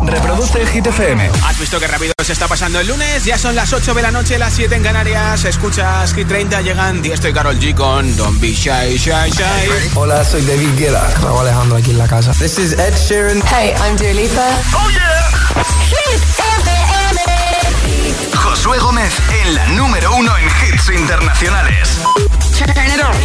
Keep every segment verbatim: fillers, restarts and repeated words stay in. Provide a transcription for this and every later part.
Reproduce Hit F M. ¿Has visto qué rápido se está pasando el lunes? Ya son las ocho de la noche, las siete en Canarias. Escuchas Hit treinta, llegan Tiesto y Karol G con Don't Be Shy, Shy, Shy. Hola, soy David Guetta. Raúl Alejandro aquí en la casa. This is Ed Sheeran. Hey, I'm Dua Lipa. ¡Oh, yeah! Hit F M. Josué Gómez en la número uno en hits internacionales. Turn it on.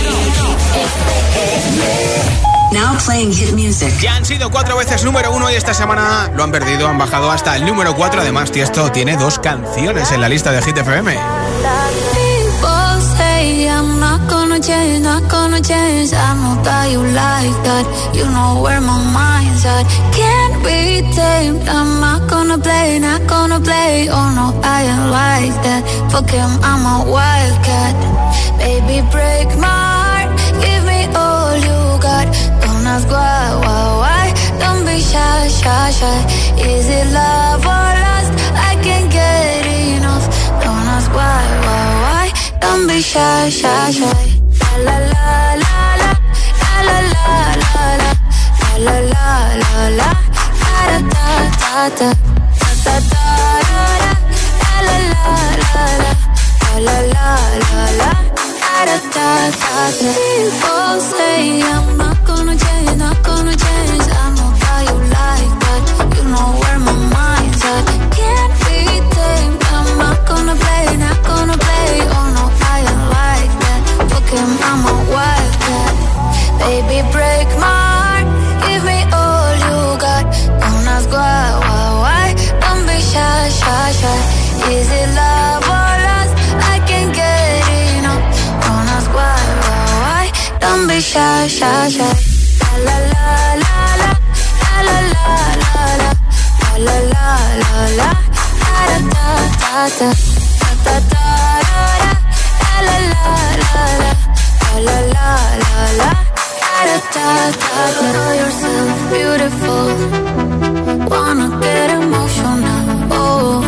Now playing hit music. Ya han sido cuatro veces número uno y esta semana lo han perdido, han bajado hasta el número cuatro. Además, Tiesto tiene dos canciones en la lista de Hit F M. People say I'm not gonna change, not gonna change. I know that you like that. You know where my mind's at. Can't be tamed. I'm not gonna play, not gonna play. Oh no, I ain't like that. Fuck him, I'm a wildcat. Baby, break my heart. Give me all you got. Don't ask why, why, why. Don't be shy, shy, shy. Is it love or lust? I can't get enough. Don't ask why, why, why. Don't be shy, shy, shy. La la la la la la la la la la la la la da da da da da da da la la la la la la la la da da da da. People say I'm not gonna change, not gonna change. I know how you like that. You know where my mind's at. Can't be tamed. I'm not gonna play, not gonna play. Oh no, I ain't like that. Fuck him, I'm a wildcat. Baby, break my heart. Give me all you got. Don't ask why, why, why. Don't be shy, shy, shy. Is it love or lust? I can't get enough. Don't ask why, why, why. Don't be shy, shy, shy. La la la la la la la la la la la la la da da da da da da da la la la la la la la la da da da. Know yourself beautiful. Wanna get emotional. Oh,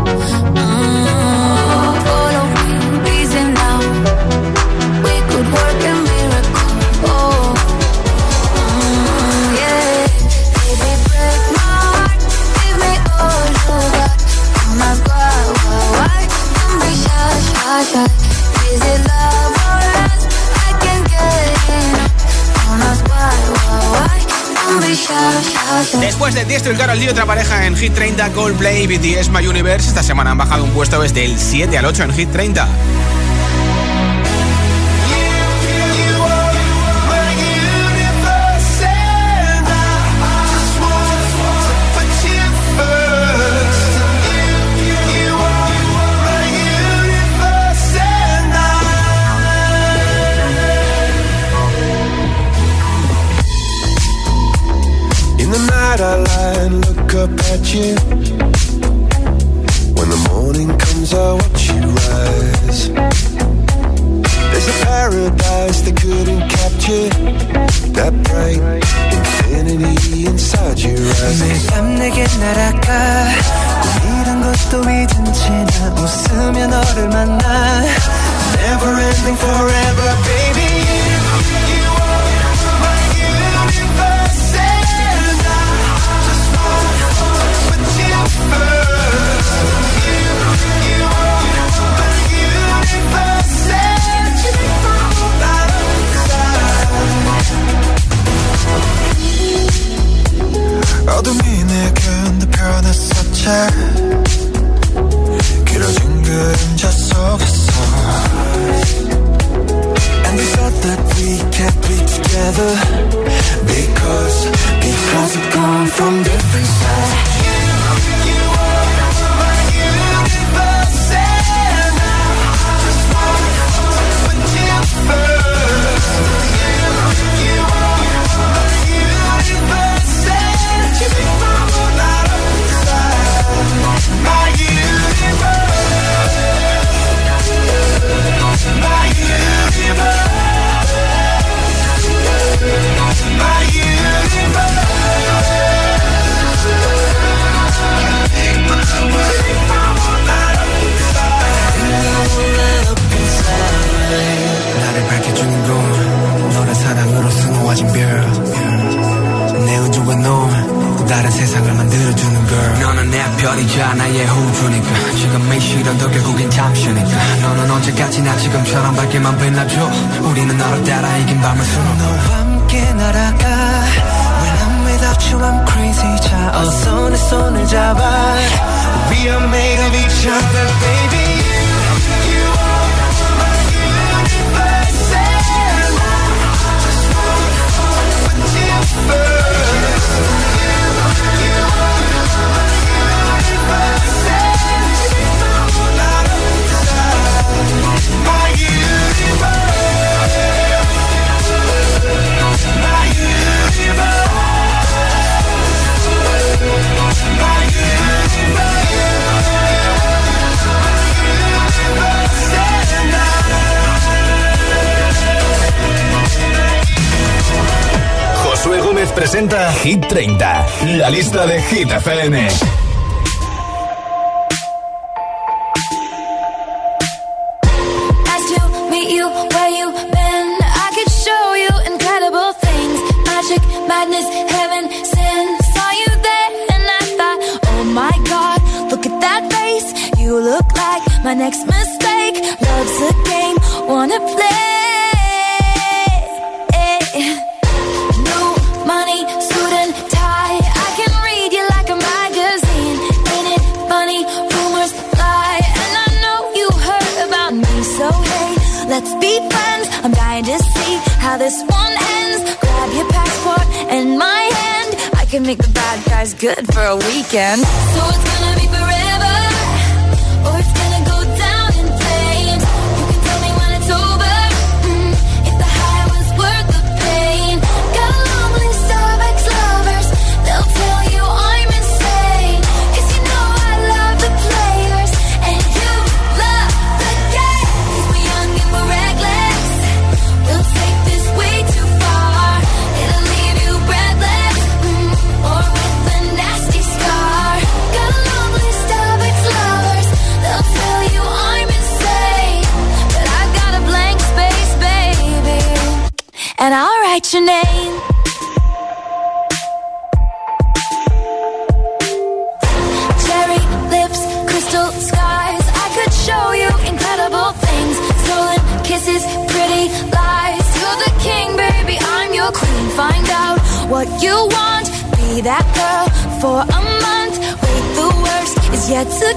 mm, follow me, reason now. We could work a miracle. Oh, mm, yeah. Baby, break my heart. Give me all you got. Don't ask why, why, why. Don't be shy, shy, shy. Is it love or lust? I can't get enough. Don't ask why, why, why. Don't be shy, shy, shy. Después de Tiesto y Karol G, otra pareja en Hit treinta, Coldplay y B T S My Universe. Esta semana han bajado un puesto desde el siete al ocho en Hit treinta. I lie and look up at you. When the morning comes, I watch you rise. There's a paradise they couldn't capture. That bright infinity inside your eyes. 매일 밤 내게 날아가. 꿈이란 것도 잊은 채 나 웃으며 너를 만나. Never ending forever, baby. 어둠이 내겐 더 변했었지. 길어진 그림자 속에서. And we thought that we can't be together. Because, because we've come from different sides. You, you are my universe, and I just wanna put you first. You, you are my universe, and you make my world out of inside. 계절이자 나의 호주니까 지금 이 시련도 결국엔 잠시니까 너는 언제까지나 지금처럼 밝게만 빛나줘 우리는 너를 따라 이긴 밤을 수놓 너와 함께 날아가 When I'm without you I'm crazy 자 어서 내 손을 잡아 We are made of each other baby You, you are my universe And I just wanna fall with you first Josué Gómez presenta Hit treinta, la lista de Hit F M. Madness, heaven, sin. Saw you there and I thought, oh my God, look at that face. You look like my next mistake. Love's a game, wanna play. New money, suit and tie. I can read you like a magazine. Ain't it funny, rumors fly. And I know you heard about me, so hey, let's be friends. I'm dying to see how this one ends. Grab your passport and my hand. I can make the bad guys good for a weekend. So it's gonna be forever, or it's gonna go down in flames. You can tell me when it's over, mm, if the high was worth the pain. Got a long list of ex-lovers, they'll tell you I'm insane. Cause you know I love the players, and you love the game. Cause we're young and we're reckless, we'll take this way too far. It'll leave you breathless, mm, or with a nasty scar. Got a long list of ex-lovers, they'll tell you I'm insane. But I've got a blank space, baby, and I'll write your name. Cherry lips, crystal skies. I could show you incredible things. Stolen kisses, pretty lies. You're the king, baby, I'm your queen. Find out what you want. Be that girl for a month. Wait, the worst is yet to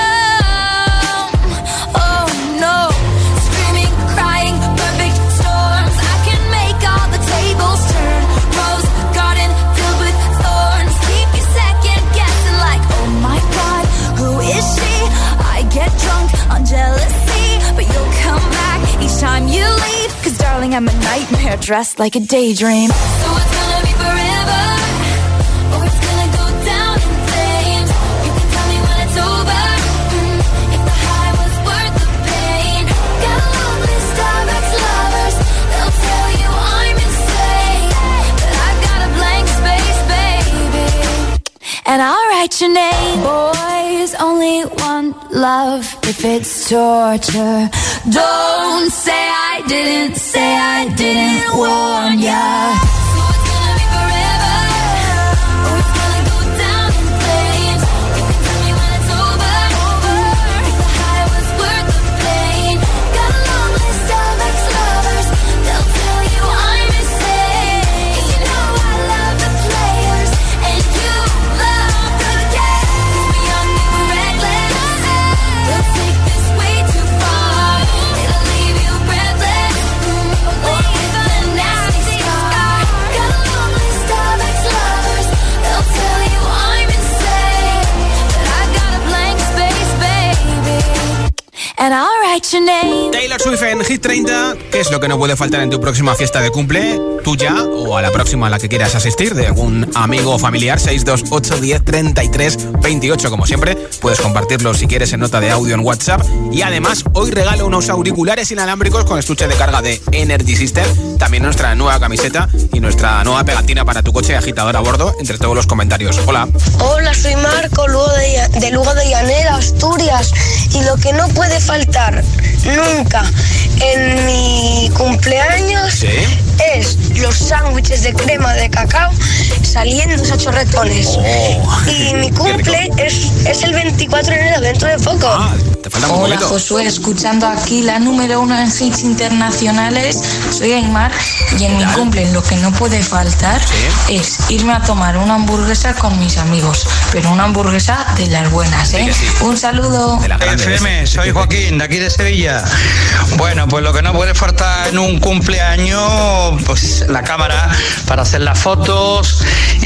come. Oh no. Screaming, crying, perfect storms. I can make all the tables turn. Rose garden filled with thorns. Keep you second guessing like, oh my God, who is she? I get drunk on jealousy, but you'll come back each time you leave. Cause darling, I'm a nightmare dressed like a daydream. So it's gonna be forever, or it's gonna go down in flames. You can tell me when it's over, mm, if the high was worth the pain. Got a long list of ex-lovers, they'll tell you I'm insane. But I've got a blank space, baby, and I'll write your name. Boys only want love if it's torture. Don't say I didn't, say I didn't warn ya. So it's gonna be forever, or it's gonna go down in flames. You can tell me when it's over, if the high was worth the pain. Got a long list of ex-lovers, they'll tell you I'm insane. 'Cause you know I love the players, and you love the game. 'Cause we're young and we're reckless, we'll take this way too far. It'll leave you breathless, mm, or with a nasty scar. Got a long list of ex-lovers, they'll tell you I'm insane. But I've got a blank space, baby, and I'll write your name. Taylor Swift en Hit treinta. ¿Qué es lo que no puede faltar en tu próxima fiesta de cumple? Tuya o a la próxima a la que quieras asistir, de algún amigo o familiar. Seis dos ocho diez treinta y tres veintiocho. Como siempre, puedes compartirlo si quieres en nota de audio en WhatsApp. Y además, hoy regalo unos auriculares inalámbricos con estuche de carga de Energy System. También nuestra nueva camiseta y nuestra nueva pegatina para tu coche, agitador a bordo, entre todos los comentarios. Hola. Hola, soy Marco, Lugo de, de Lugo de Llanera, Asturias. Y lo que no puede faltar nunca en mi cumpleaños, ¿sí?, es los sándwiches de crema de cacao saliendo a chorretones. Oh, y mi cumple es es, es el veinticuatro de enero, dentro de poco. Ah, te falta un Hola poquito. Josué, escuchando aquí la número uno en hits internacionales. Soy Aymar y en mi cumple lo que no puede faltar ¿Sí? es irme a tomar una hamburguesa con mis amigos, pero una hamburguesa de las buenas, ¿eh? Sí que sí. Un saludo. De la grande. F M, soy Joaquín, de aquí de Sevilla. Bueno, pues lo que no puede faltar en un cumpleaños, pues la cámara para hacer las fotos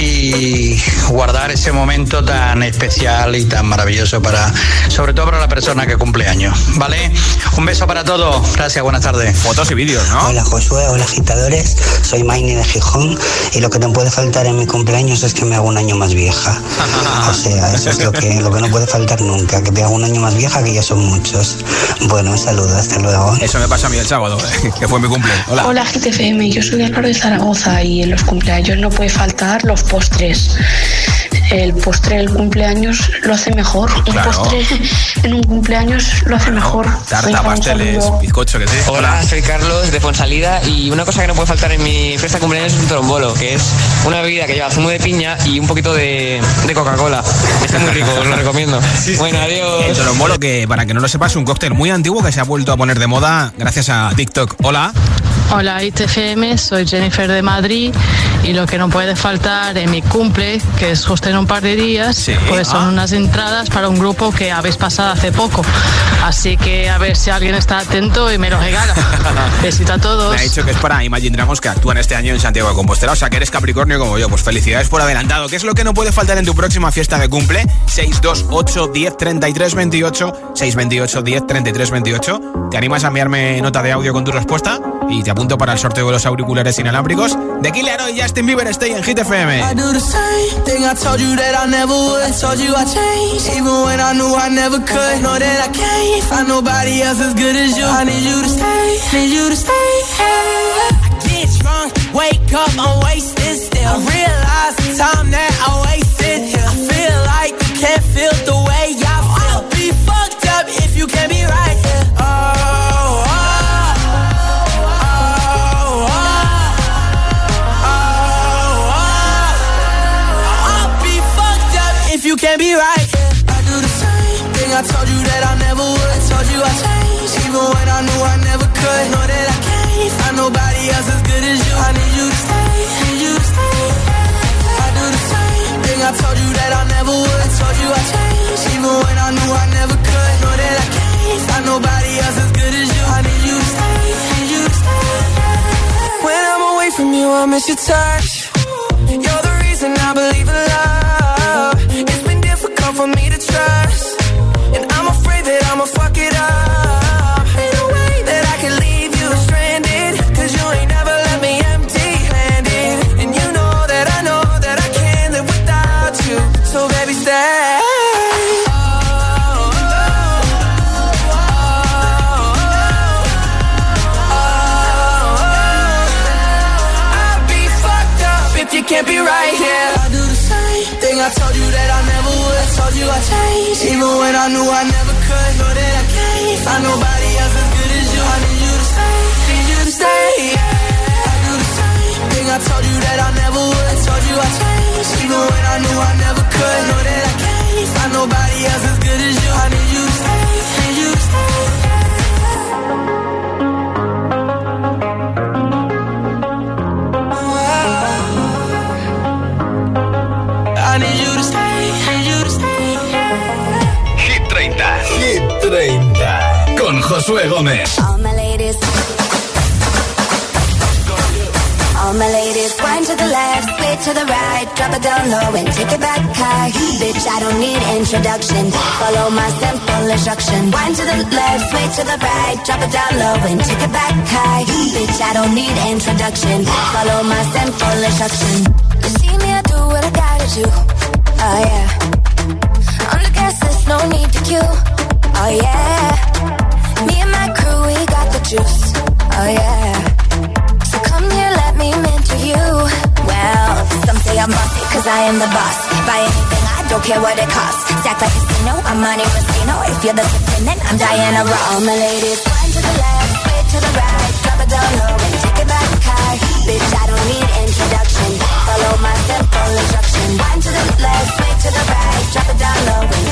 y guardar ese momento tan especial y tan maravilloso para, sobre todo para la persona que cumple años, ¿vale? Un beso para todos, gracias, buenas tardes. Fotos y vídeos, ¿no? Hola Josué, hola agitadores, soy Maini de Gijón y lo que no puede faltar en mi cumpleaños es que me hago un año más vieja. O sea, eso es lo que, lo que no puede faltar nunca, que me hago un año más vieja, que ya son muchos. Bueno, un saludo, hasta luego. Eso me pasa a mí el sábado, que fue mi cumple. Hola. Hola G T F M, yo soy Álvaro de Zaragoza y en los cumpleaños no puede faltar los postres. El postre del cumpleaños lo hace mejor. Un Claro. postre en un cumpleaños lo hace mejor. Tarta, Venga, un pasteles, saludo. bizcocho, que sí. Hola, soy Carlos de Fonsalida y una cosa que no puede faltar en mi fiesta de cumpleaños es un trombolo, que es una bebida que lleva zumo de piña y un poquito de, de Coca-Cola. Está muy rico, os lo recomiendo. Bueno, adiós. El trombolo, que para que no lo sepas, es un cóctel muy antiguo que se ha vuelto a poner de moda gracias a TikTok. Hola. Hola I T F M, soy Jennifer de Madrid y lo que no puede faltar en mi cumple, que es justo en un par de días, Sí. pues son Ah. unas entradas para un grupo que habéis pasado hace poco. Así que a ver si alguien está atento y me lo regala. Besito a todos. Me ha dicho que es para Imagine Dragons, que actúan este año en Santiago de Compostela. O sea, que eres Capricornio como yo. Pues felicidades por adelantado. ¿Qué es lo que no puede faltar en tu próxima fiesta de cumple? seis dos ocho, diez, treinta y tres, veintiocho. seis dos ocho, diez, treinta y tres, veintiocho. ¿Te animas a enviarme nota de audio con tu respuesta? Y te apunto para el sorteo de los auriculares inalámbricos de Killer y Justin Bieber. Stay en Hit F M. I do the same thing I told you that I never would. I told you I changed, even when I knew I never could. Know that I can't find nobody else as good as you. I need you to stay, need you to stay. I get drunk, wake up, I'm wasted still. I realize the time that I wasted here. I feel like you can't feel the way I feel. I'll be fucked up if you can't be right here. Oh, oh, oh, oh, oh, oh. I'll be fucked up if you can't be right here. I do the same thing I told you that I never would. I told you I changed, even when I knew I never could. Know that I can't find nobody else as good as you. I need you to stay, need you to stay. I do the same thing I told you that I never would. I told you I changed, even when I knew I never could. Know that I can't find nobody else as good as you. I need you to stay, need you to stay. When I'm away from you, I miss your touch. You're the reason I believe in love. It's been difficult for me to trust, and I'm afraid that I'ma fuck it up. Ain't no way that I can leave you stranded, cause you ain't never left me empty-handed. And you know that I know that I can't live without you. So baby stay. You can't be right here. I do the same thing I told you that I never would. I told you I changed, even when I knew I never could. Know that I can't find nobody else as good as you. I need you to stay, need you to stay. I do the same thing I told you that I never would. I told you I changed, even when I knew I never could. Know that I can't find nobody else as good as you. I need you to stay, need you to stay. I need you to stay, need you to stay. Hit treinta. Hit treinta. Con Josué Gómez. All my ladies. All my ladies, wind to the left, sway to the right, drop it down low and take it back high. Bitch, I don't need introduction. Follow my simple instruction. Wind to the left, sway to the right, drop it down low and take it back high. Bitch, I don't need introduction. Follow my simple instruction. You see me, I do what I gotta do. Oh yeah. On the gas list, no need to queue. Oh yeah. Me and my crew, we got the juice. Oh yeah. So come here, let me mentor you. Well, some say I'm bossy, cause I am the boss. Buy anything, I don't care what it costs. Stack like a casino, I'm Monte Rustino. If you're the then I'm Diana Ross. All my ladies, one to the left, way to the right. Drop it down low and take it back high. Bitch, I don't need introduction. Follow my simple instruction. One to the left, way to the right. Drop it down low and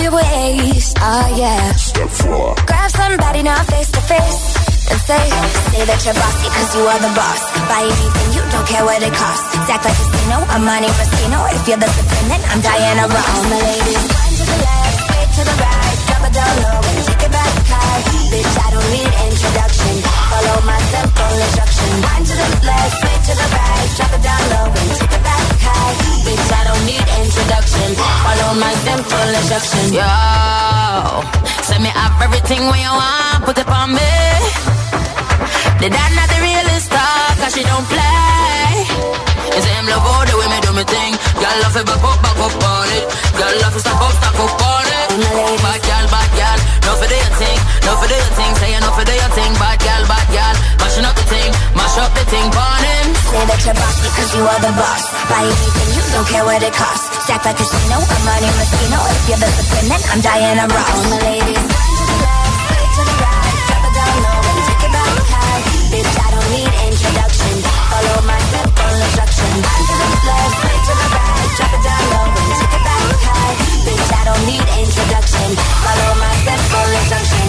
your waist, oh yeah. Step four. Grab somebody now face to face and say, say that you're bossy cause you are the boss. Buy anything, you don't care what it costs. Act like a casino, I'm Monte Moschino. If you're the supreme, then I'm Diana Ross. All my ladies, one to the left, straight to the right. Drop it down low and take it back high. Bitch, I don't need introduction. Follow my simple instruction. One to the left, straight to the right. Drop it down low and take it back high. Bitch, I don't need introduction. Follow my simple instruction. Yo, send me up everything when you want. Put it on me. The dad not the realest star, cause she don't play. You say him love all the way me do me thing. Girl love it back up, back up on it. Girl love it stack up, stack up on it. Bad girl, bad girl, no for do your thing. No for do your thing, say you no for do your thing. Bad girl, bad girl, mashing up the thing. Mash up the thing, burn him. Say that you're bossy cause you are the boss. Buy anything, you don't care what it costs. Stack like a casino, I'm Monte Moschino. If you're the supreme, then I'm Diana Ross. All my ladies, one to the left, straight to the right. Drop it down low and take it back high. Bitch, I don't need introduction. Follow my simple instruction. One to the left, straight to the right. Drop it down low and take it back high. Bitch, I don't need introduction. Follow my simple instruction.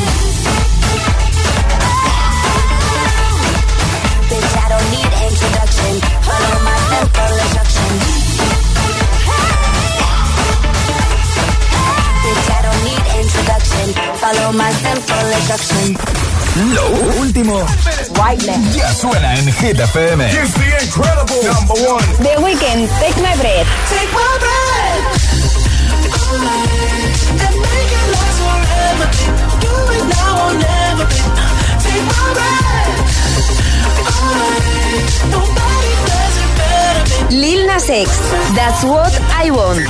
Bitch, I don't need introduction. Follow my simple instruction. Bitch, I don't need introduction. Follow my simple instruction. Lo último ya suena en Hit F M. Here's the incredible number one. The Weeknd, Take My Breath. Take my breath and make it last forever. Do it now or never. Take my breath. Nobody does it better. Lil Nas X, That's What I Want.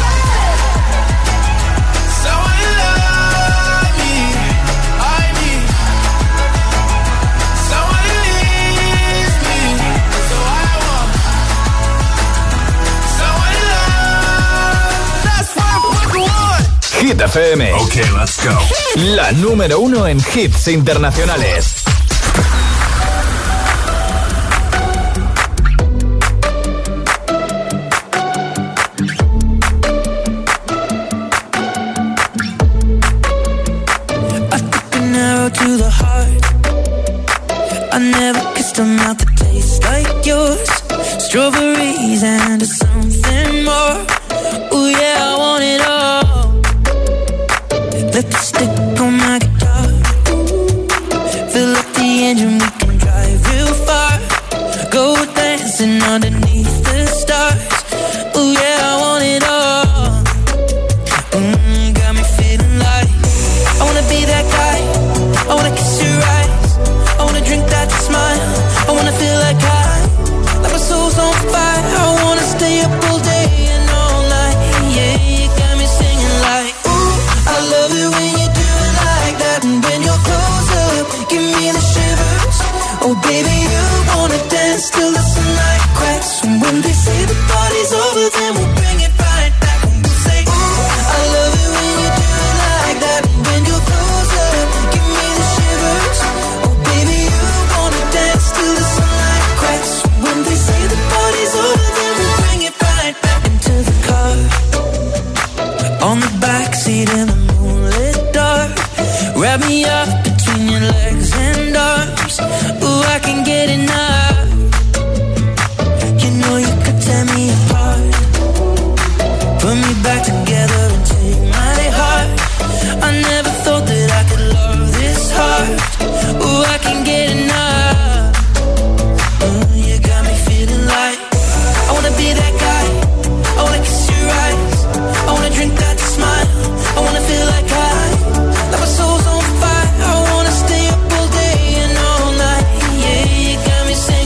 Hit F M. Okay, let's go. La número uno en hits internacionales. I took an arrow to the heart. I never kissed a mouth that tastes like yours. Strawberries and something more. Ooh yeah, I want it all. Let the stick on my guitar. Fill up the engine, we can drive real far. Go dancing underneath the stars. Ooh yeah, I want it all. Mm, got me feeling like I wanna be that guy. I wanna kiss your eyes. I wanna drink that smile. I wanna feel like I, like my soul's on fire. I wanna stay up all day and all night. Yeah, you got me singing like, ooh, I love it when you do it like that. And when you're close up, give me the shivers. Oh baby, you wanna dance till the sunlight cracks. And when they say the party's over, then we'll bring it right back. And we'll say, ooh, I love it when you do it like that. And when you're close up, give me the shivers. Oh baby, you wanna dance till the sunlight cracks. And when they say the party's over, then we'll bring it right back into the car. On the backseat in the moonlit dark. Wrap me up between your legs and arms. Ooh, I can get enough. You know you could tear me apart. Put me back together and take my heart. I never thought that I could love this hard. Ooh, I can get enough. Ooh, you got me feeling like I wanna be that guy. I wanna kiss your eyes. I wanna drink that smile. I wanna feel like I, like my soul's on fire. I wanna stay up all day and all night. Yeah, you got me saying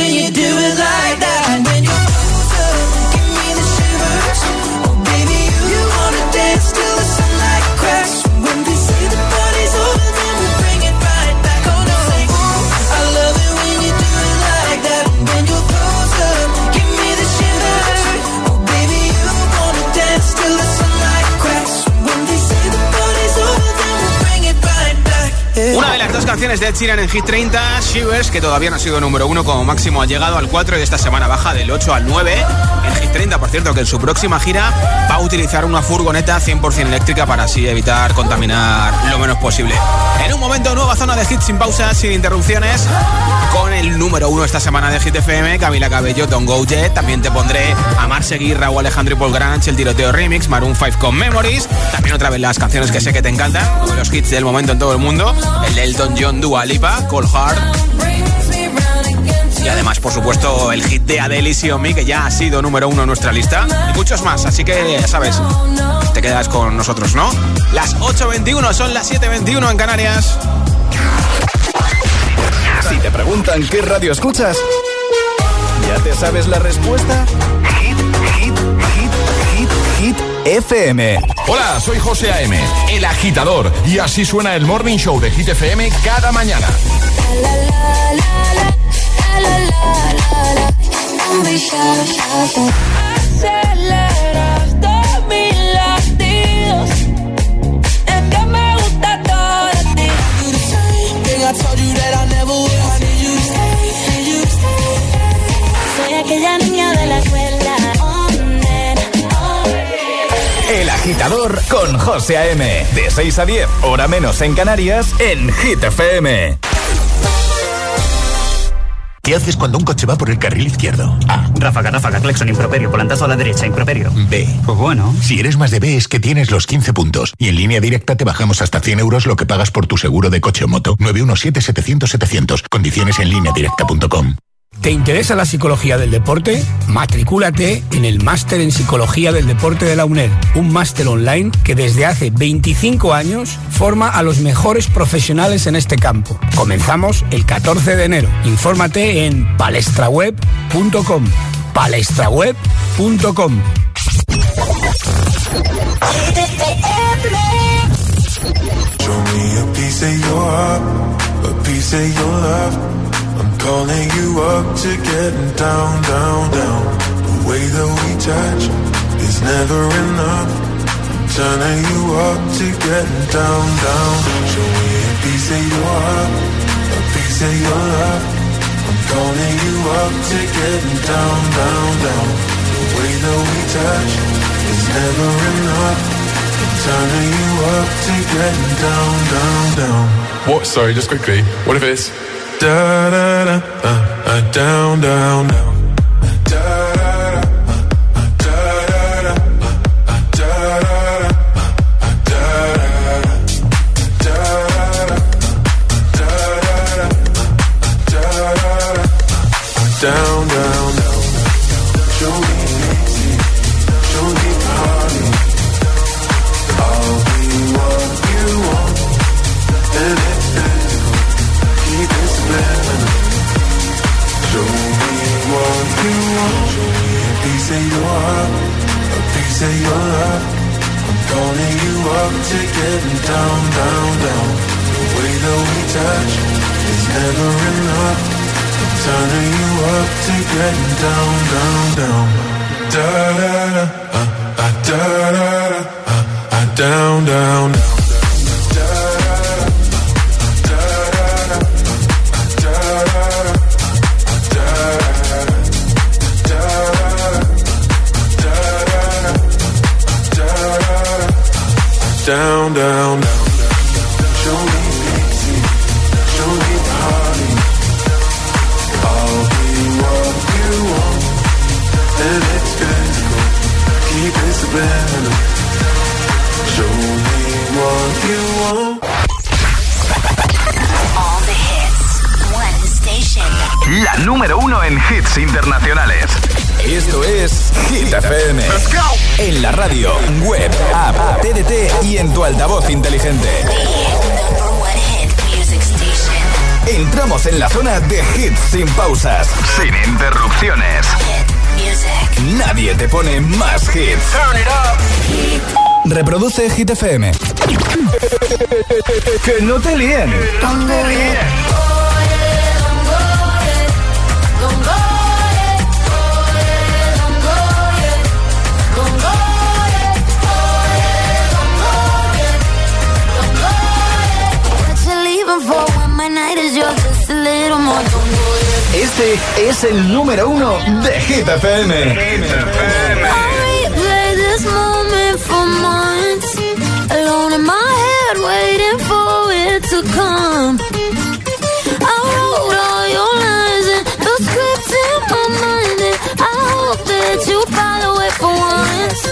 when you do it like that. When you're closer, give me the shivers. Oh baby, you, you wanna dance till the sunlight cracks. When they say the party's over, then we bring it right back. Oh no, say, ooh, I love it when you do it like that. When you're closer, give me the shivers. Oh baby, you wanna dance till the sunlight cracks. When they say the party's over, then we bring it right back. Yeah. Una de las dos canciones de Ed Sheeran en Hit treinta, Shivers, que todavía no ha sido número uno, como máximo ha llegado al cuatro y esta semana baja del ocho al nueve. En Hit treinta, por cierto, que en su próxima gira va a utilizar una furgoneta cien por ciento eléctrica para así evitar contaminar lo menos posible. En un momento, nueva zona de hits sin pausas, sin interrupciones, con el número uno esta semana de Hit F M, Camila Cabello, Don't Go Jet. También te pondré a Mar Seguí, Raúl Alejandro y Paul Granch, el tiroteo remix, Maroon cinco con Memories. También otra vez las canciones que sé que te encantan, uno de los hits del momento en todo el mundo, el de Elton John, Dua Lipa, Cold Heart. Y además, por supuesto, el hit de Adele y Xiaomi, que ya ha sido número uno en nuestra lista. Y muchos más, así que ya sabes, te quedas con nosotros, ¿no? Las ocho veintiuno, son las siete veintiuno en Canarias. Si te preguntan qué radio escuchas, ¿ya te sabes la respuesta? Hit, hit, hit, hit, hit F M. Hola, soy José A M, el agitador, y así suena el Morning Show de Hit F M cada mañana. Aceleras mis latidos, es que me gusta todo de ti. I told you that I never would. I need you to stay, need you to stay. Soy aquella niña de la escuela. Oh, nena, oh. El agitador con José A M. De seis a diez, hora menos en Canarias, en Hit F M. ¿Qué haces cuando un coche va por el carril izquierdo? A. Ráfaga, ráfaga, claxon, improperio, volantazo a la derecha, improperio. B. Pues bueno. Si eres más de B es que tienes los quince puntos. Y en Línea Directa te bajamos hasta cien euros lo que pagas por tu seguro de coche o moto. nueve uno siete, setecientos, setecientos. Condiciones en línea directa punto com. ¿Te interesa la psicología del deporte? Matricúlate en el Máster en Psicología del Deporte de la UNED, un máster online que desde hace veinticinco años forma a los mejores profesionales en este campo. Comenzamos el catorce de enero. Infórmate en palestraweb punto com. palestraweb punto com. Show me a piece of your heart, a piece of your love. I'm calling you up to getting down, down, down. The way that we touch is never enough. I'm turning you up to getting down, down. Show me a piece of your heart, a piece of your love. I'm calling you up to getting down, down, down. The way that we touch is never enough. I'm turning you up to getting down, down, down. What? Sorry, just quickly. What if it's da da da, uh, uh, down, down, down. Down, down, down. Show me easy, show me party. I'll be what you want, and it's physical. Keep it spinning. Show me what you want. Show me a piece of your heart, a piece of your love. I'm calling you up to getting down, down, down. The way that we touch is never enough. Turning you up to getting down, down, down. Da da da, uh, uh, da da da, uh, uh, down, down, down. Down, down, down. Show me easy, show me party. I'll be what you want, and it's physical. Keep it subliminal. Show me what you want. All the hits, one station. La número uno en hits internacionales. Esto es Hit F M. Let's go. En la radio, web, app, T D T y en tu altavoz inteligente. Entramos en la zona de hits sin pausas, sin interrupciones. Nadie te pone más hits. Turn it up. Reproduce Hit F M. Que no te líen. Don't go yet. Este es el número uno de Hit F M. Hit F M. I replay this moment for months, alone in my head, waiting for it to come. I wrote all your lines and the scripts in my mind, and I hope that you follow it for once.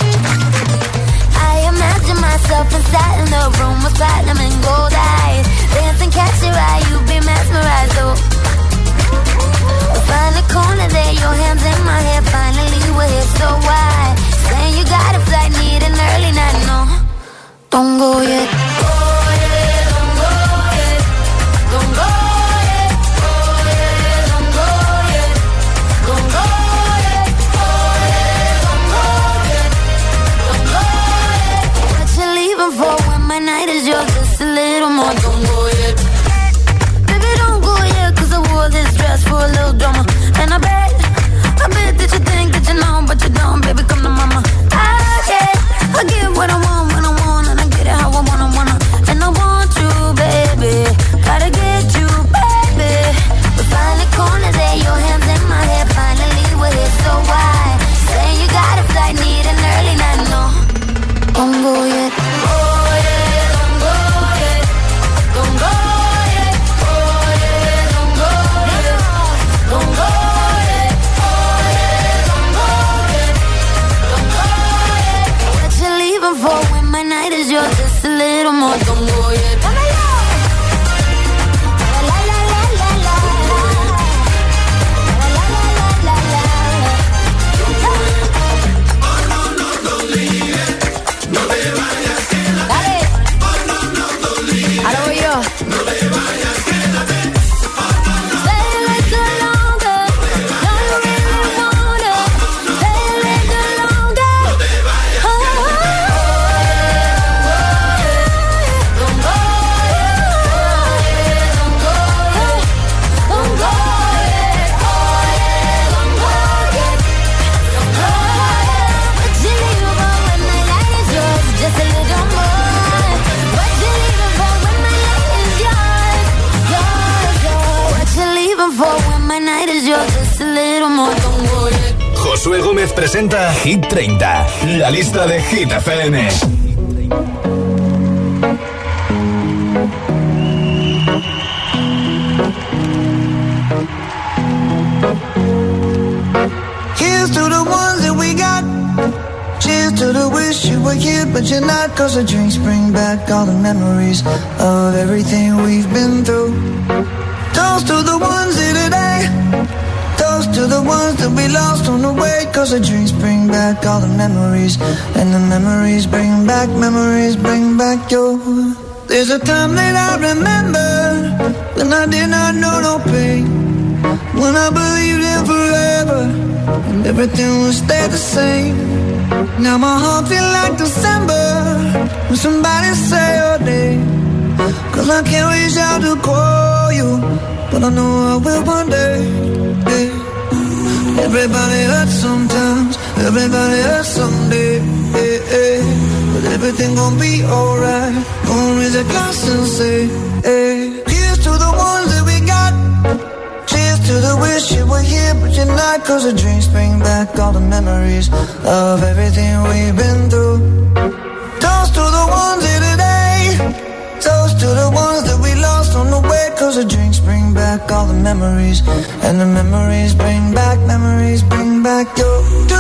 I imagine myself inside in the room with platinum and gold eyes, dancing, catch your eye, you be mesmerized. Oh, find a corner there, your hands in my hair. Finally we're here, so why? Saying you got a flight, need an early night. No, don't go yet. What you leaving for when my night is yours? Just a little more. Don't go yet. Baby, don't go yet, 'cause I wore this dress for a little drama. And I bet, I bet that you think that you know, but you don't. Baby, come to mama. I get, I get what I want when I want, and I get it how I wanna, wanna. And I want you, baby, gotta get you, baby. We find a corner there, your hands in my hair. Finally we're here, so why? Saying you got a flight, need an early night. No, don't go yet. For when my night is yours, just a little more. Don't go yet. La la la la la la. La la la la la la. No, no, no, no olvides. No te vayas, quédate. Dale. Oh, no, no, no olvides. Ahora voy yo. No te vayas, quédate. Stay a little longer. No, you really want it. Stay a little longer. No te vayas. Oh, Josué Gómez presenta Hit treinta, la lista de Hit F M. Here's to the ones that we got. Cheers to the wish you were here, but you're not. 'Cause the drinks bring back all the memories of everything we've been through. Toast to the ones here today. Toast to the ones that we lost on the way. 'Cause the drinks bring back all the memories, and the memories bring back, memories bring back your. There's a time that I remember when I did not know no pain, when I believed in forever and everything would stay the same. Now my heart feels like December when somebody say your name. 'Cause I can't reach out to call you, but I know I will one day. Yeah. Everybody hurts sometimes, everybody hurts someday. Yeah, yeah. But everything gon' be alright. Gonna raise a glass and say, hey. Here's to the ones that we got. Cheers to the wish you were here, but you're not. 'Cause the drinks bring back all the memories of everything we've been through. Toast to the ones here today. Toast to the ones that we lost on the way. 'Cause the drinks bring back all the memories, and the memories bring back, memories bring back your.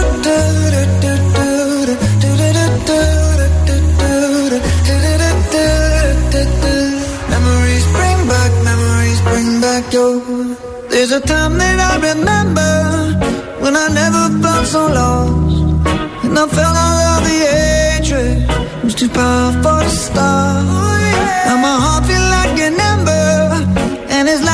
Memories bring back, memories bring back your. There's a time that I remember when I never felt so lost, and I felt all of the hatred was too powerful to stop. Oh, yeah. Now my heart feel like an ember, and it's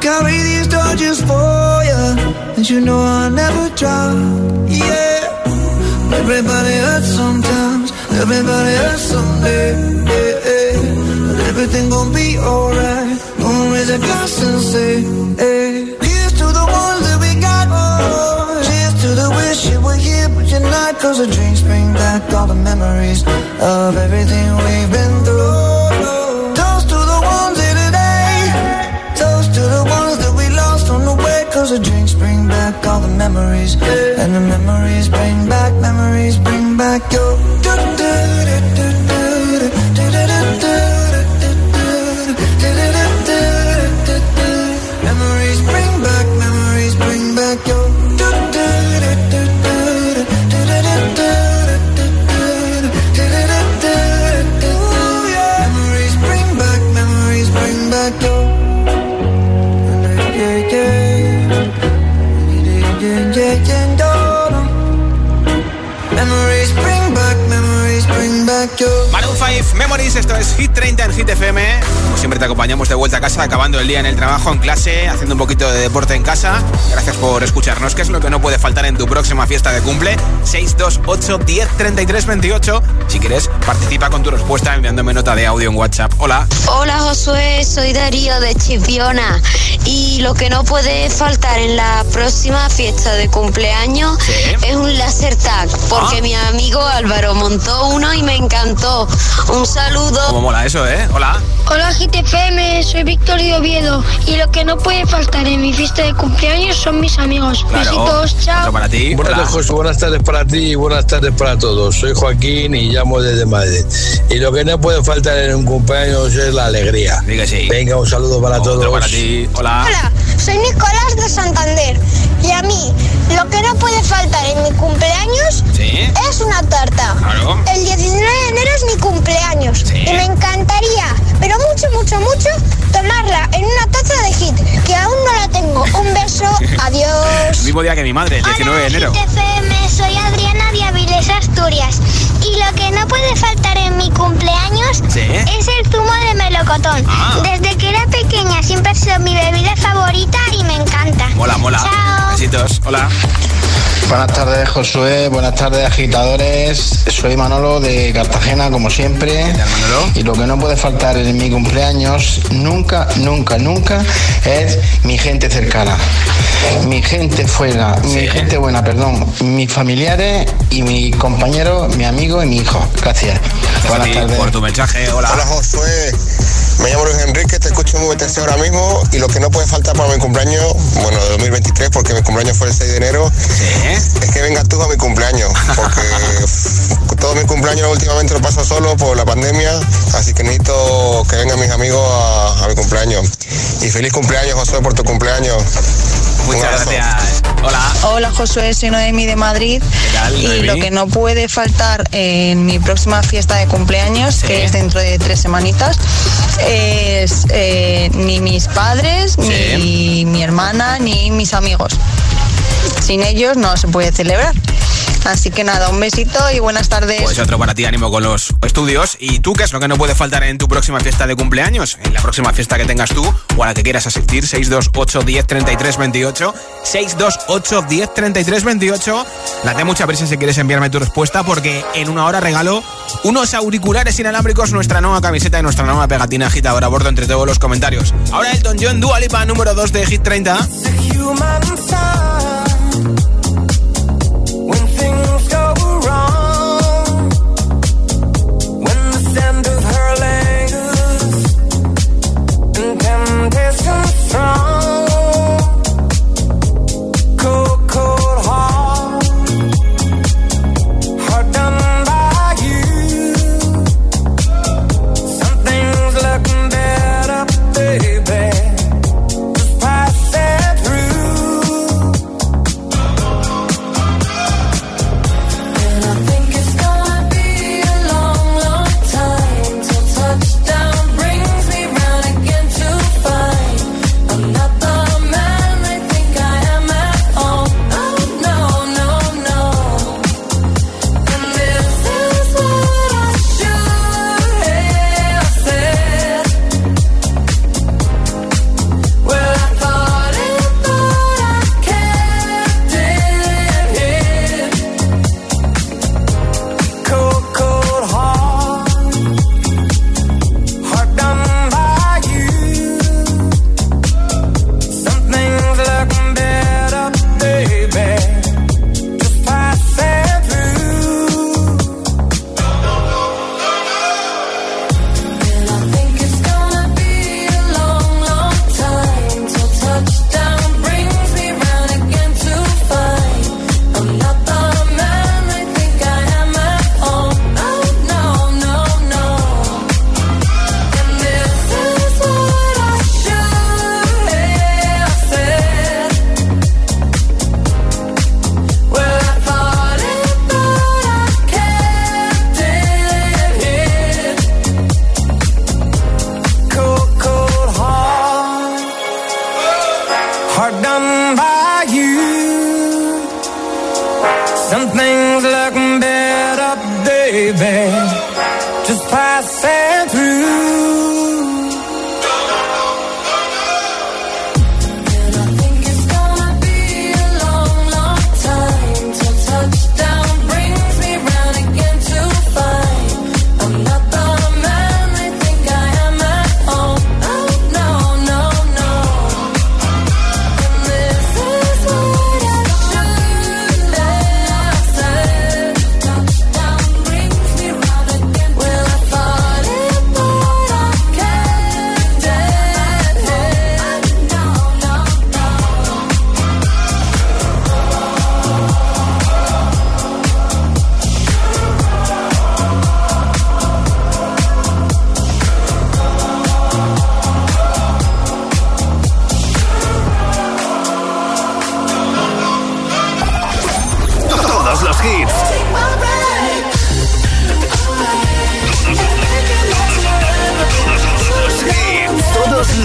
carry these torches for you, and you know I'll never drop. Yeah, everybody hurts sometimes, everybody hurts someday. Yeah, yeah. But everything gon' be alright. Gonna raise a glass and say, hey, here's to the ones that we got. Oh, cheers to the wish you were here, but you're not. Cause the drinks bring back all the memories of everything we've been through. Cause the drinks bring back all the memories, and the memories bring back, memories bring back your memories bring back, memories bring back your memories bring back, memories bring back your yeah, yeah. Memories bring back, memories bring back your... Maroon cinco, Memories, esto es Hit treinta en Hit F M. Como siempre te acompañamos de vuelta a casa, acabando el día en el trabajo, en clase, haciendo un poquito de deporte en casa. Gracias por escucharnos, que es lo que no puede faltar en tu próxima fiesta de cumple. seis dos ocho, diez, treinta y tres, veintiocho. Si quieres, participa con tu respuesta enviándome nota de audio en WhatsApp. Hola. Hola Josué, soy Darío de Chipiona. Y lo que no puede faltar en la próxima fiesta de cumpleaños ¿sí? es un laser tag, porque ¿ah? mi amigo Álvaro montó uno y me encantó. Un saludo. ¿Cómo mola eso, eh? Hola. Hola Hit F M, soy Víctor de Oviedo. Y lo que no puede faltar en mi fiesta de cumpleaños son mis amigos. Claro. Besitos, chao. Otro para ti. Buenas tardes, José, buenas tardes para ti y buenas tardes para todos. Soy Joaquín y llamo desde Madrid. Y lo que no puede faltar en un cumpleaños es la alegría. Diga sí. Venga, un saludo para Otro todos. para ti. Hola. Hola, soy Nicolás de Santander. Y a mí, lo que no puede faltar en mi cumpleaños ¿sí? es una tarta. Claro. El diecinueve de enero es mi cumpleaños. ¿Sí? Y me encantaría, pero mucho, mucho, mucho, tomarla en una taza de Hit, que aún no la tengo. Un beso, adiós. El mismo día que mi madre, el diecinueve de enero. Hola, Hit F M, soy Adriana de Avilés, Asturias. Y lo que no puede faltar en mi cumpleaños ¿sí? es el zumo de melocotón. Ah. Desde que era pequeña siempre ha sido mi bebida favorita y me encanta. Mola, mola. Chao. Besitos. Hola. Buenas tardes, Josué. Buenas tardes, agitadores. Soy Manolo de Cartagena, como siempre. ¿Qué tal, Manolo? Y lo que no puede faltar en mi cumpleaños, nunca, nunca, nunca, es mi gente cercana. Mi gente fuera, sí. mi gente buena, perdón. Mis familiares y mi compañero, mi amigo y mi hijo. Gracias. Gracias Buenas a ti tardes. por tu mensaje. Hola. Hola, Josué. Me llamo Luis Enrique, te escucho muy bien ahora mismo. Y lo que no puede faltar para mi cumpleaños, bueno, de dos mil veintitrés, porque mi cumpleaños fue el seis de enero, ¿sí? es que vengas tú a mi cumpleaños. Porque todo mi cumpleaños últimamente lo paso solo por la pandemia. Así que necesito que vengan mis amigos a, a mi cumpleaños. Y feliz cumpleaños, Josué, por tu cumpleaños. Muchas gracias. Hola. Hola, Josué, soy Noemi de Madrid. ¿Qué tal, y Noemi? lo que no puede faltar en mi próxima fiesta de cumpleaños, ¿sí? que es dentro de tres semanitas, es eh, ni mis padres, ¿sí? ni mi hermana, ni mis amigos. Sin ellos no se puede celebrar. Así que nada, un besito y buenas tardes. Pues otro para ti, ánimo con los estudios. ¿Y tú qué es lo que no puede faltar en tu próxima fiesta de cumpleaños? En la próxima fiesta que tengas tú o a la que quieras asistir. seis dos ocho, diez, treinta y tres, veintiocho. seis dos ocho, diez, treinta y tres, veintiocho. Date mucha prisa si quieres enviarme tu respuesta, porque en una hora regalo unos auriculares inalámbricos, nuestra nueva camiseta y nuestra nueva pegatina agitadora a bordo entre todos los comentarios. Ahora Elton John, Dua Lipa, número dos de Hit treinta. Baby, just pass it through.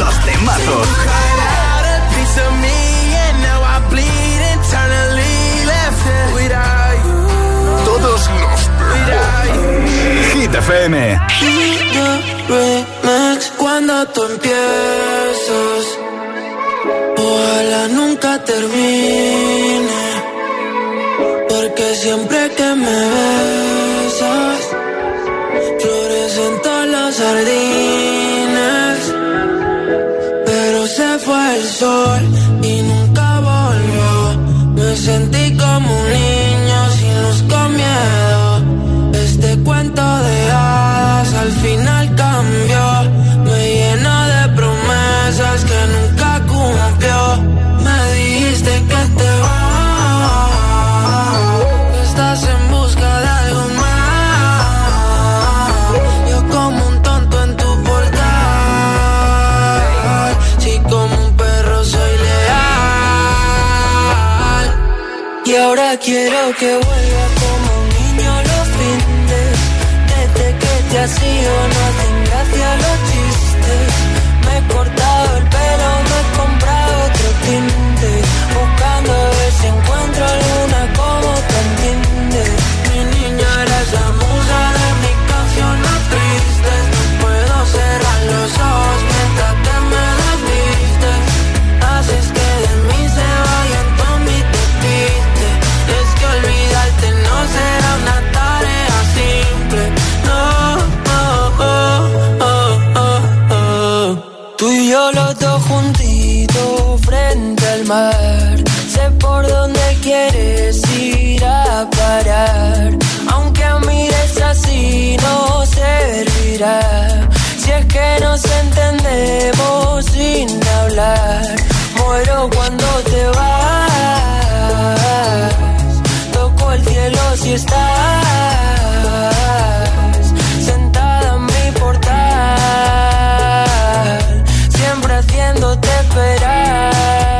los temazos. Todos los temazos. Hit F M. Cuando tú empiezas, ojalá nunca termine, porque siempre que me besas, florecen todos los jardines, pero se fue el sol y nunca volvió. Me sentí como un niño sin luz, con miedo. Este cuento de hadas al final cambió. Me llena de promesas que nunca cumplió. Me dijiste que te vas, que estás en busca de algo más. Yo como un tonto en tu portal, sí, como un perro soy leal. Y ahora quiero que vuelva como un niño los fines. Desde que te has ido no hacen gracia los chistes. Me he cortado el pelo, me he comprado otro tinte, buscando a ver si encuentro alguna como te entiende. Mi niña, eres la musa de mis canciones tristes. No puedo cerrar los ojos mientras que me desvistes. Haces que de mí se vayan todos mis despistes. Es que olvidarte no será una tarea simple. No, oh, oh, oh, oh, oh. Tú y yo los dos juntitos frente al mar. Sé por dónde quieres ir a parar. Aunque mires así no servirá. Si es que nos entendemos sin hablar. Muero cuando te vas. Toco el cielo si estás sentada en mi portal, siempre haciéndote esperar.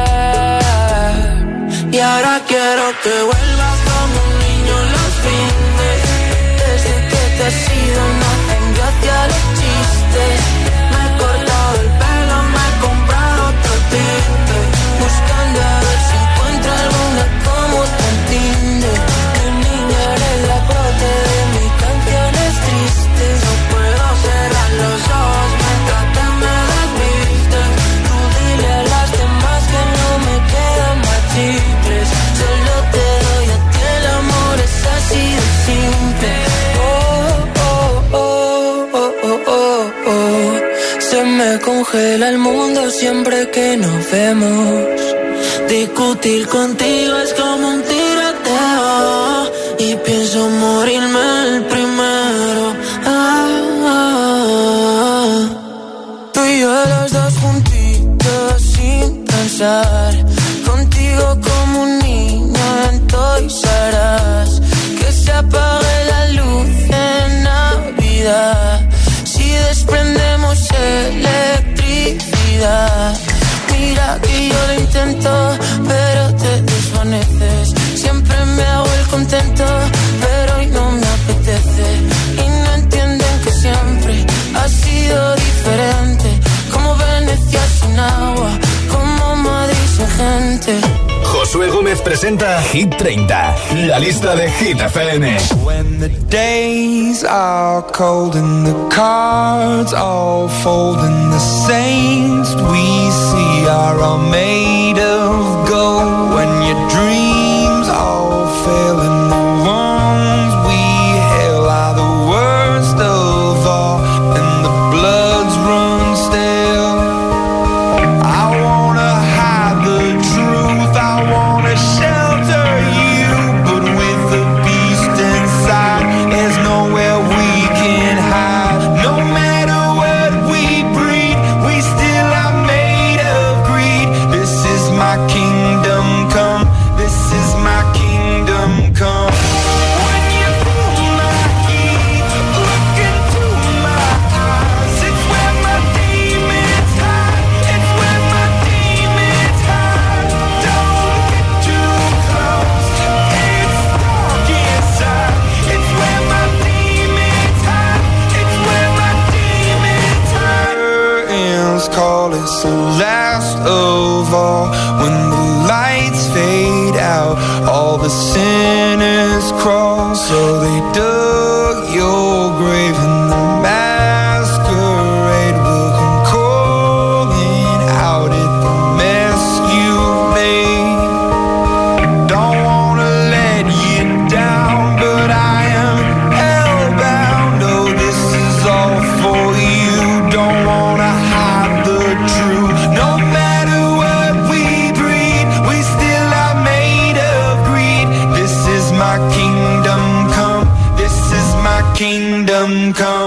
Y ahora quiero que vuelvas como un niño los fines. Desde que te has ido no hacen gracia los chistes. Me he cortado el pelo, me he comprado otro tinte, buscando a ver si encuentro alguna como te entiende. Mi niña, eres la prote de mis canciones tristes. No puedo cerrar los ojos mientras te me desvistes. Tú dile a las demás que no me quedan más chicles. Solo te doy a ti, el amor es así de simple. Oh, oh, oh, oh, oh, oh, oh. Se me congela el mundo siempre que nos vemos. Discutir contigo es como un tiroteo y pienso morirme el primero. Ah, ah, ah. Tú y yo los dos juntitos sin pensar. Contigo como un niño en Toys R Us. Que se apague la luz en Navidad si desprendemos electricidad. Mira que yo lo intento, pero te desvaneces. Siempre me hago el contento, pero hoy no me apetece. Y no entienden que siempre ha sido diferente. Como Venecia sin agua, como Madrid sin gente. Josué Gómez presenta Hit treinta, la lista de Hit F M. When the days are cold and the cards all fold and the saints we see are all made of gold. When your dreams all fail and the ones we hail are the worst of all and the bloods run stale. I wanna hide the truth, I wanna shelter you, but with the beast inside, there's nowhere we can hide. No matter what we breed, we still are made of greed. This is call, it's the last of all. When the lights fade out, all the sinners crawl. So they dug your grave and the masquerade will come calling out at the mess you've made. Don't wanna let you down, but I am hellbound. Oh, this is all for you. Don't wanna hide the truth. No matter what we breed, we still are made of greed. This is my kingdom come. This is my kingdom come.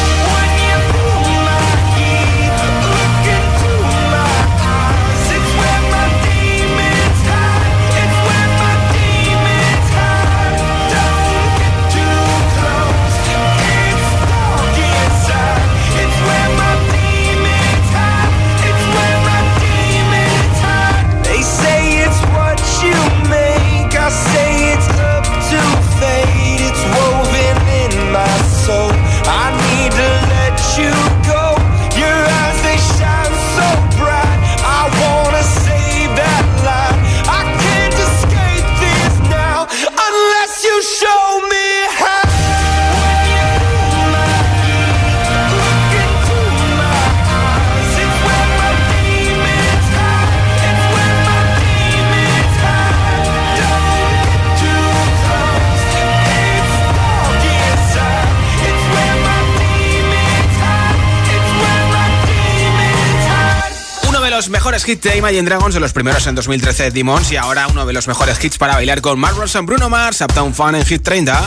Mejores hits de Imagine Dragons, de los primeros en dos mil trece, Demons, y ahora uno de los mejores hits para bailar con Mark Ronson, Bruno Mars, Uptown Fun en Hit treinta.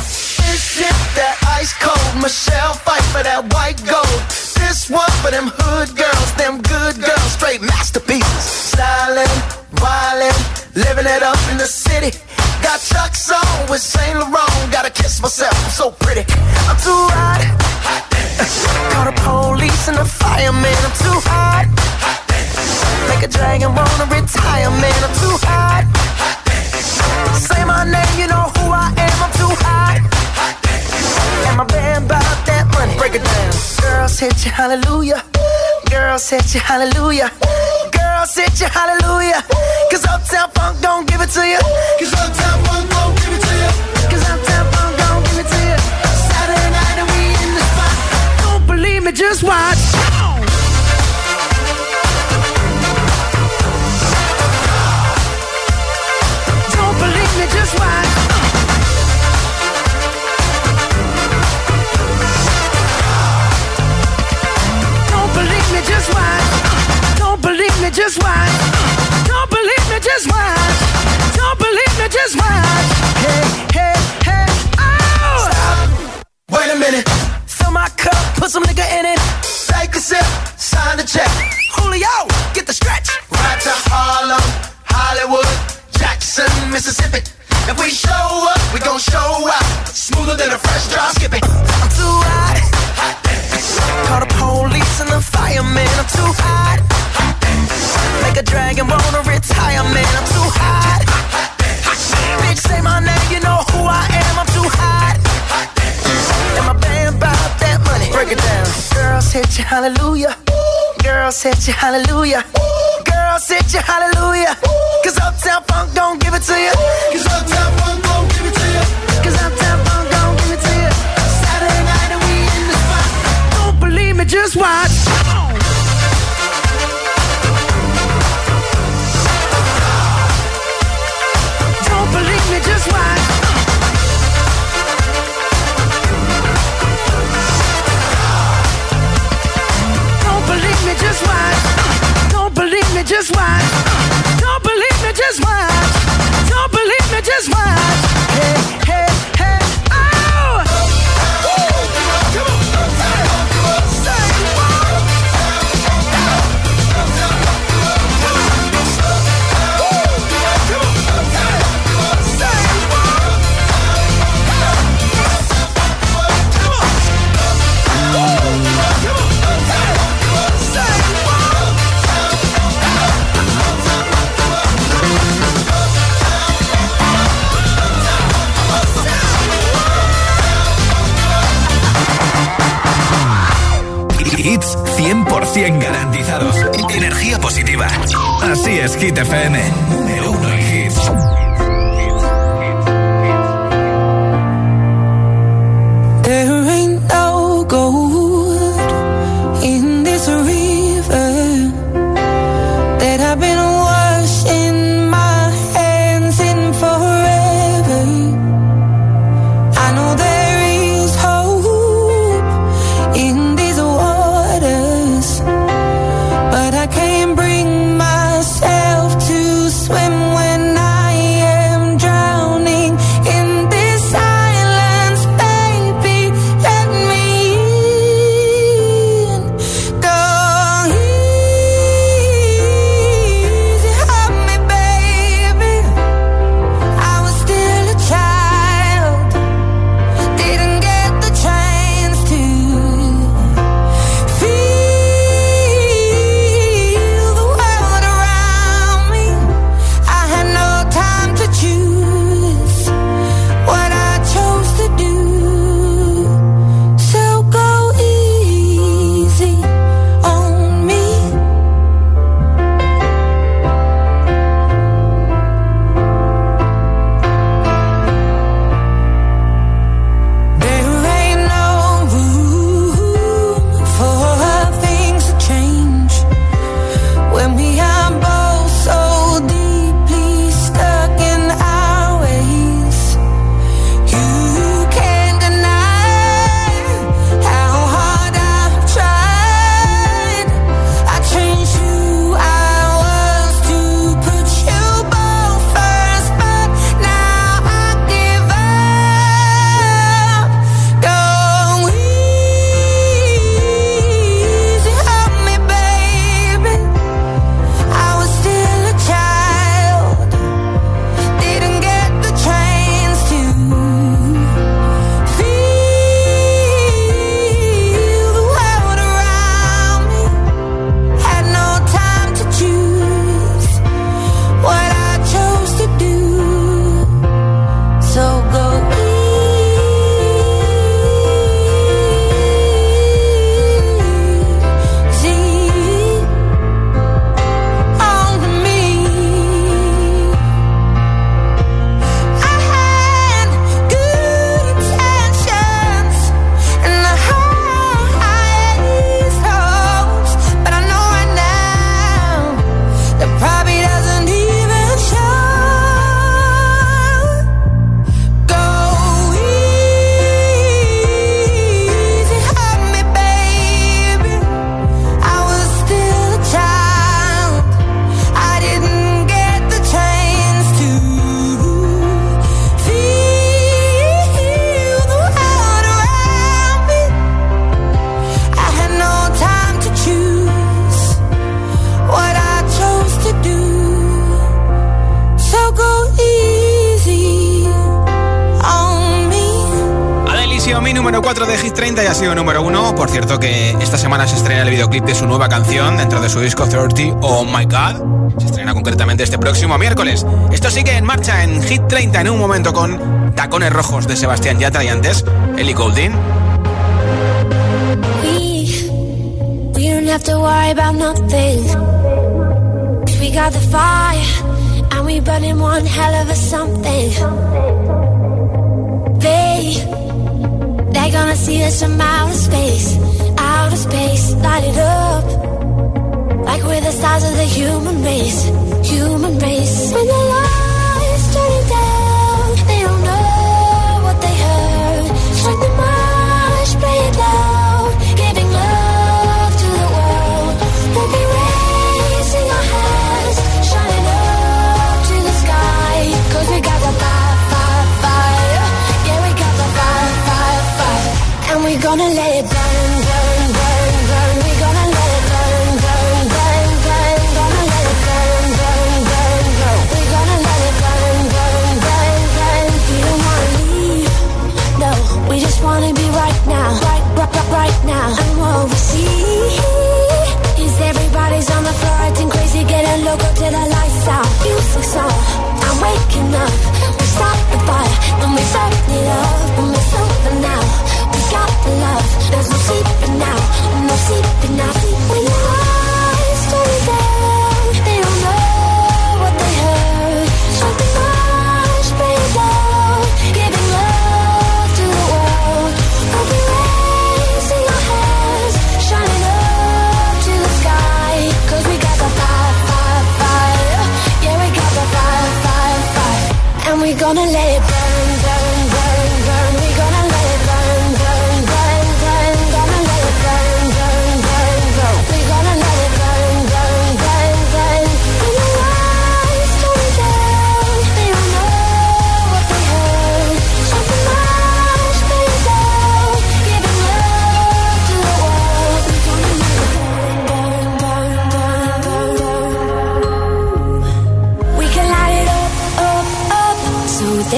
This one for them hood girls, them good girls, straight masterpieces. Stylin', wildin', living it up in the city. Got Chuck's on with Saint Laurent, gotta kiss myself, I'm so pretty. I'm too hot. Call the police and the fireman, I'm too hot. Make a dragon wanna retire, man, I'm too hot. Say my name, you know who I am, I'm too hot. And my band bought that money, break it down. Girls hit you, hallelujah. Girls hit you, hallelujah. Girls hit you, hallelujah. Cause Uptown Funk don't give it to you. Cause Uptown Funk don't give it to you. Cause Uptown Funk don't give it to you. Saturday night and we in the spot. Don't believe me, just watch. Don't believe me, just watch. Just watch. Don't believe me, just watch. Don't believe me, just watch. Don't believe me, just watch. Hey, hey, hey, oh! Stop. Wait a minute. Fill my cup, put some nigga in it. Take a sip, sign the check. Julio, get the stretch. Right to Harlem, Hollywood, Jackson, Mississippi. If we show up, we gon' show out. Smoother than a fresh drop skipping. I'm too hot. Call the police and the fireman, I'm too hot. Make a dragon wanna retire, man, I'm too hot. Bitch, say my name, you know who I am, I'm too hot. And my band bought that money, break it down. Girls hit you, hallelujah. Girls hit you, hallelujah. Girls hit you, hallelujah. Cause Uptown Funk don't give it to you. Cause Uptown Funk don't give it to you. Cause Uptown Funk don't give it to you. Saturday night and we in the spot. Don't believe me, just watch. Don't believe me, just watch. Don't believe me, just watch. Don't believe me, just watch. Don't believe me, just watch. Don't believe me, just watch. Hey, hey, hey, oh! Come on, come on, say it. cien garantizados. Energía positiva. Así es Hit F M. Número uno en hits. There ain't no gold in this river that I've been washing my hands in forever. I know there is hope in these waters, but I can't bring myself to swim when I am drowning in this silence. Baby, let me in. Go easy on me, baby. I was still a child, didn't get the chance to feel the world around me. I had no time to choose what I chose to do. So go easy on me. There ain't no room for things to change when we are both so deeply stuck in our ways. You can't deny how hard I've tried. I changed who I was to put you both first, but now I give up. Go easy on me, baby. I was still a child, didn't get the chance to feel the world around me. Had no time to choose what I chose to do. So go easy on me. I had good intentions and the highest hopes, but I know right now that probably doesn't even show. Go easy on me, baby. I was still a child, I didn't get the chance to feel the world around me. I had no time to choose what I chose to do. So go easy on me. Adele y Xiaomi, número cuatro de Hit treinta, y ha sido número uno. Por cierto que esta semana se estrena el videoclip de su nueva canción dentro de su disco treinta, Oh My God. Se estrena concretamente este próximo miércoles. Esto sigue en marcha en Hit treinta en un momento con Tacones Rojos de Sebastián Yatra y antes Ellie Goulding. We, we don't have to worry about nothing, 'cause we got the fire, and we burning one hell of a something. They, they're gonna see us from outer space, outer space, light it up, like we're the stars of the human race, human race. When the lights turn down, they don't know what they heard. Strike the march, play it loud, giving love to the world. We'll be raising our hands, shining up to the sky, 'cause we got the fire, fire, fire. Yeah, we got the fire, fire, fire. And we're gonna let it burn, burn, burn, burn. We're gonna let it burn, burn, burn, burn. Gonna let it burn, burn, burn, burn. We're gonna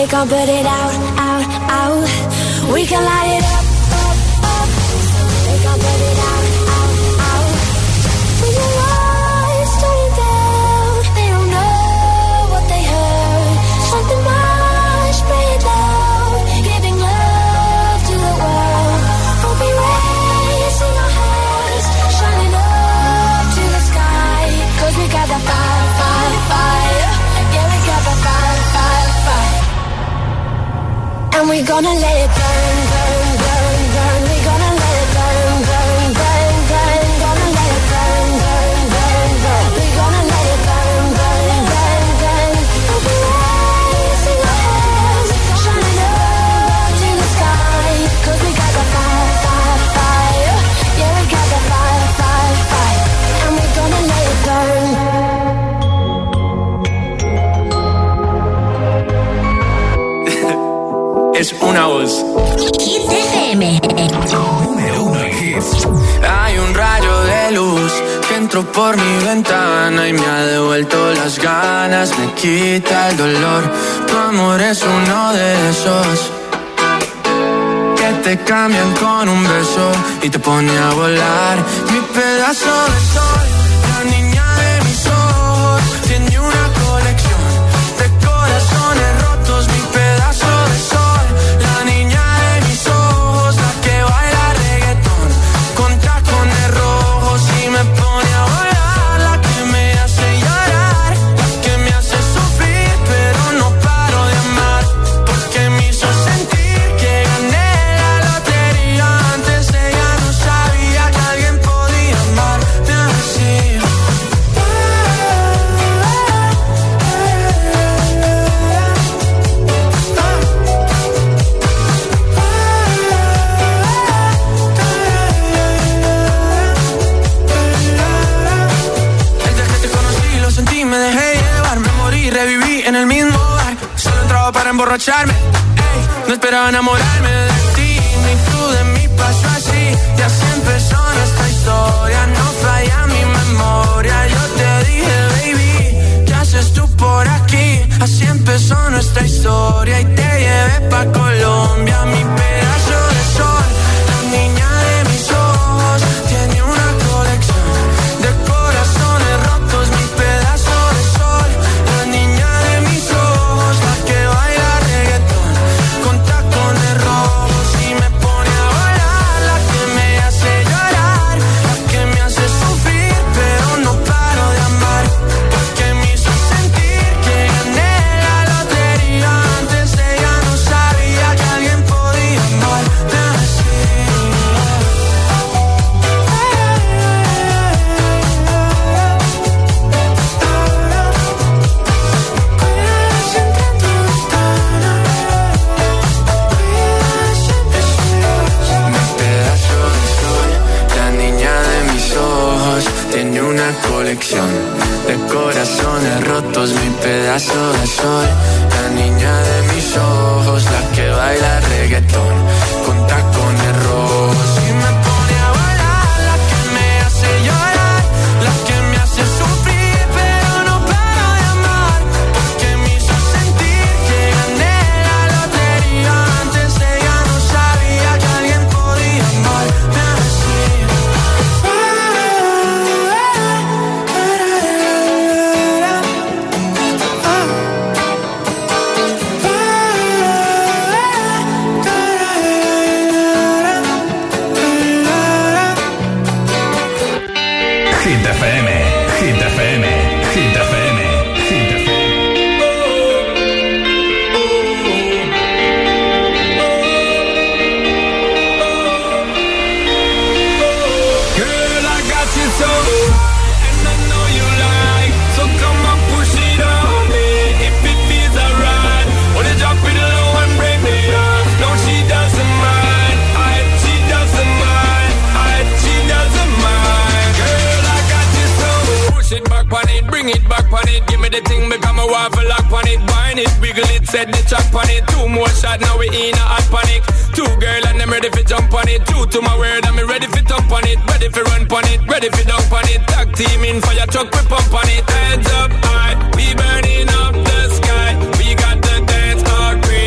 we can put it out, out, out. We can light it up, up, up. We can put it out, out, out. When your lights turn down, they don't know what they heard. Something much pretty loud, giving love to the world. We'll be raising our hands, shining up to the sky. Cause we got the fire, fire, fire. Yeah, we got the fire, fire, fire. And we gonna let it burn, burn, burn, burn. We gonna let it burn, burn, burn, burn. Gonna let it burn, burn, burn, burn. We gonna let it burn, burn, burn, burn. We'll be raising our hands, shining up to the sky. Cause we got the fire, fire, fire. Yeah, we got the fire, fire, fire. And we gonna let it burn. Es una voz. Hit F M. Número uno en hits. Hay un rayo de luz que entró por mi ventana y me ha devuelto las ganas, me quita el dolor. Tu amor es uno de esos que te cambian con un beso y te pone a volar. Mi pedazo de sol, la niña de mis ojos, tiene una colección de corazones rotos. Mi pedazo de sol. Para emborracharme, ey, no esperaba enamorarme de ti, ni tú de mí pasó así. Y así empezó nuestra historia, no falla mi memoria. Yo te dije, baby, ¿qué haces tú por aquí? Así empezó nuestra historia y te llevé pa' Colombia. Mi pedazo de sol, la niña de mis ojos, tiene una colección de corazones rotos. Mi pedazo de sol, la niña de mis ojos, la que baila reggaetón con tacones rojos y me pone a volar, la que me hace llorar, la que me hace sufrir pero no paro de amar, la que me hizo sentir que gané la lotería. Antes ella no sabía que alguien podía amarme así. Tiene una colección de corazones rotos, mi pedazo de sol, la niña de mis ojos, la que baila reggaetón con tacones rojos y me pone a volar, la que me hace llorar, la que me hace sufrir pero no paro de amar, porque me hizo sentir que gané la lotería. Antes ella no sabía que alguien podía amarme así. Hit F M, Hit F M, Hit F M, Hit F M. Girl, I got you so, and I know you like, so come on, push it on me, if it feels alright. Wanna drop it low and break me off. No, she doesn't mind, I, she doesn't mind, I, she doesn't mind. Girl, I got you so, push it back on it, bring it back on it, give me the thing, become a waffle lock on it, wine it, wiggle it, set the track on it. Two more shots, now we in a hot panic. Two girl and I'm ready for jump on it. Two to my word, I'm ready for jump on it. Ready for run on it, ready for dunk on it. Tag team in fire truck, we pump on it. Hands up high, we burning up the sky. We got the dance hard green.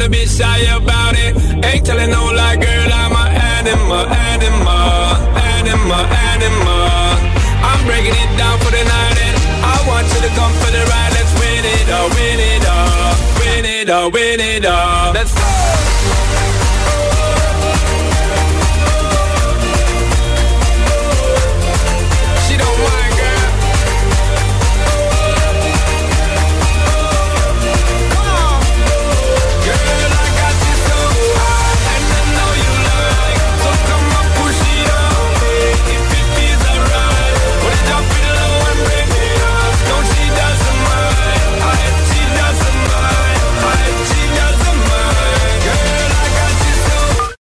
a bit shy about it. Ain't telling no lie, girl, I'm a animal, animal, animal, animal. I'm breaking it down for the night and I want you to come for the ride. Let's win it all, win it all, win it all, win it all. Let's go.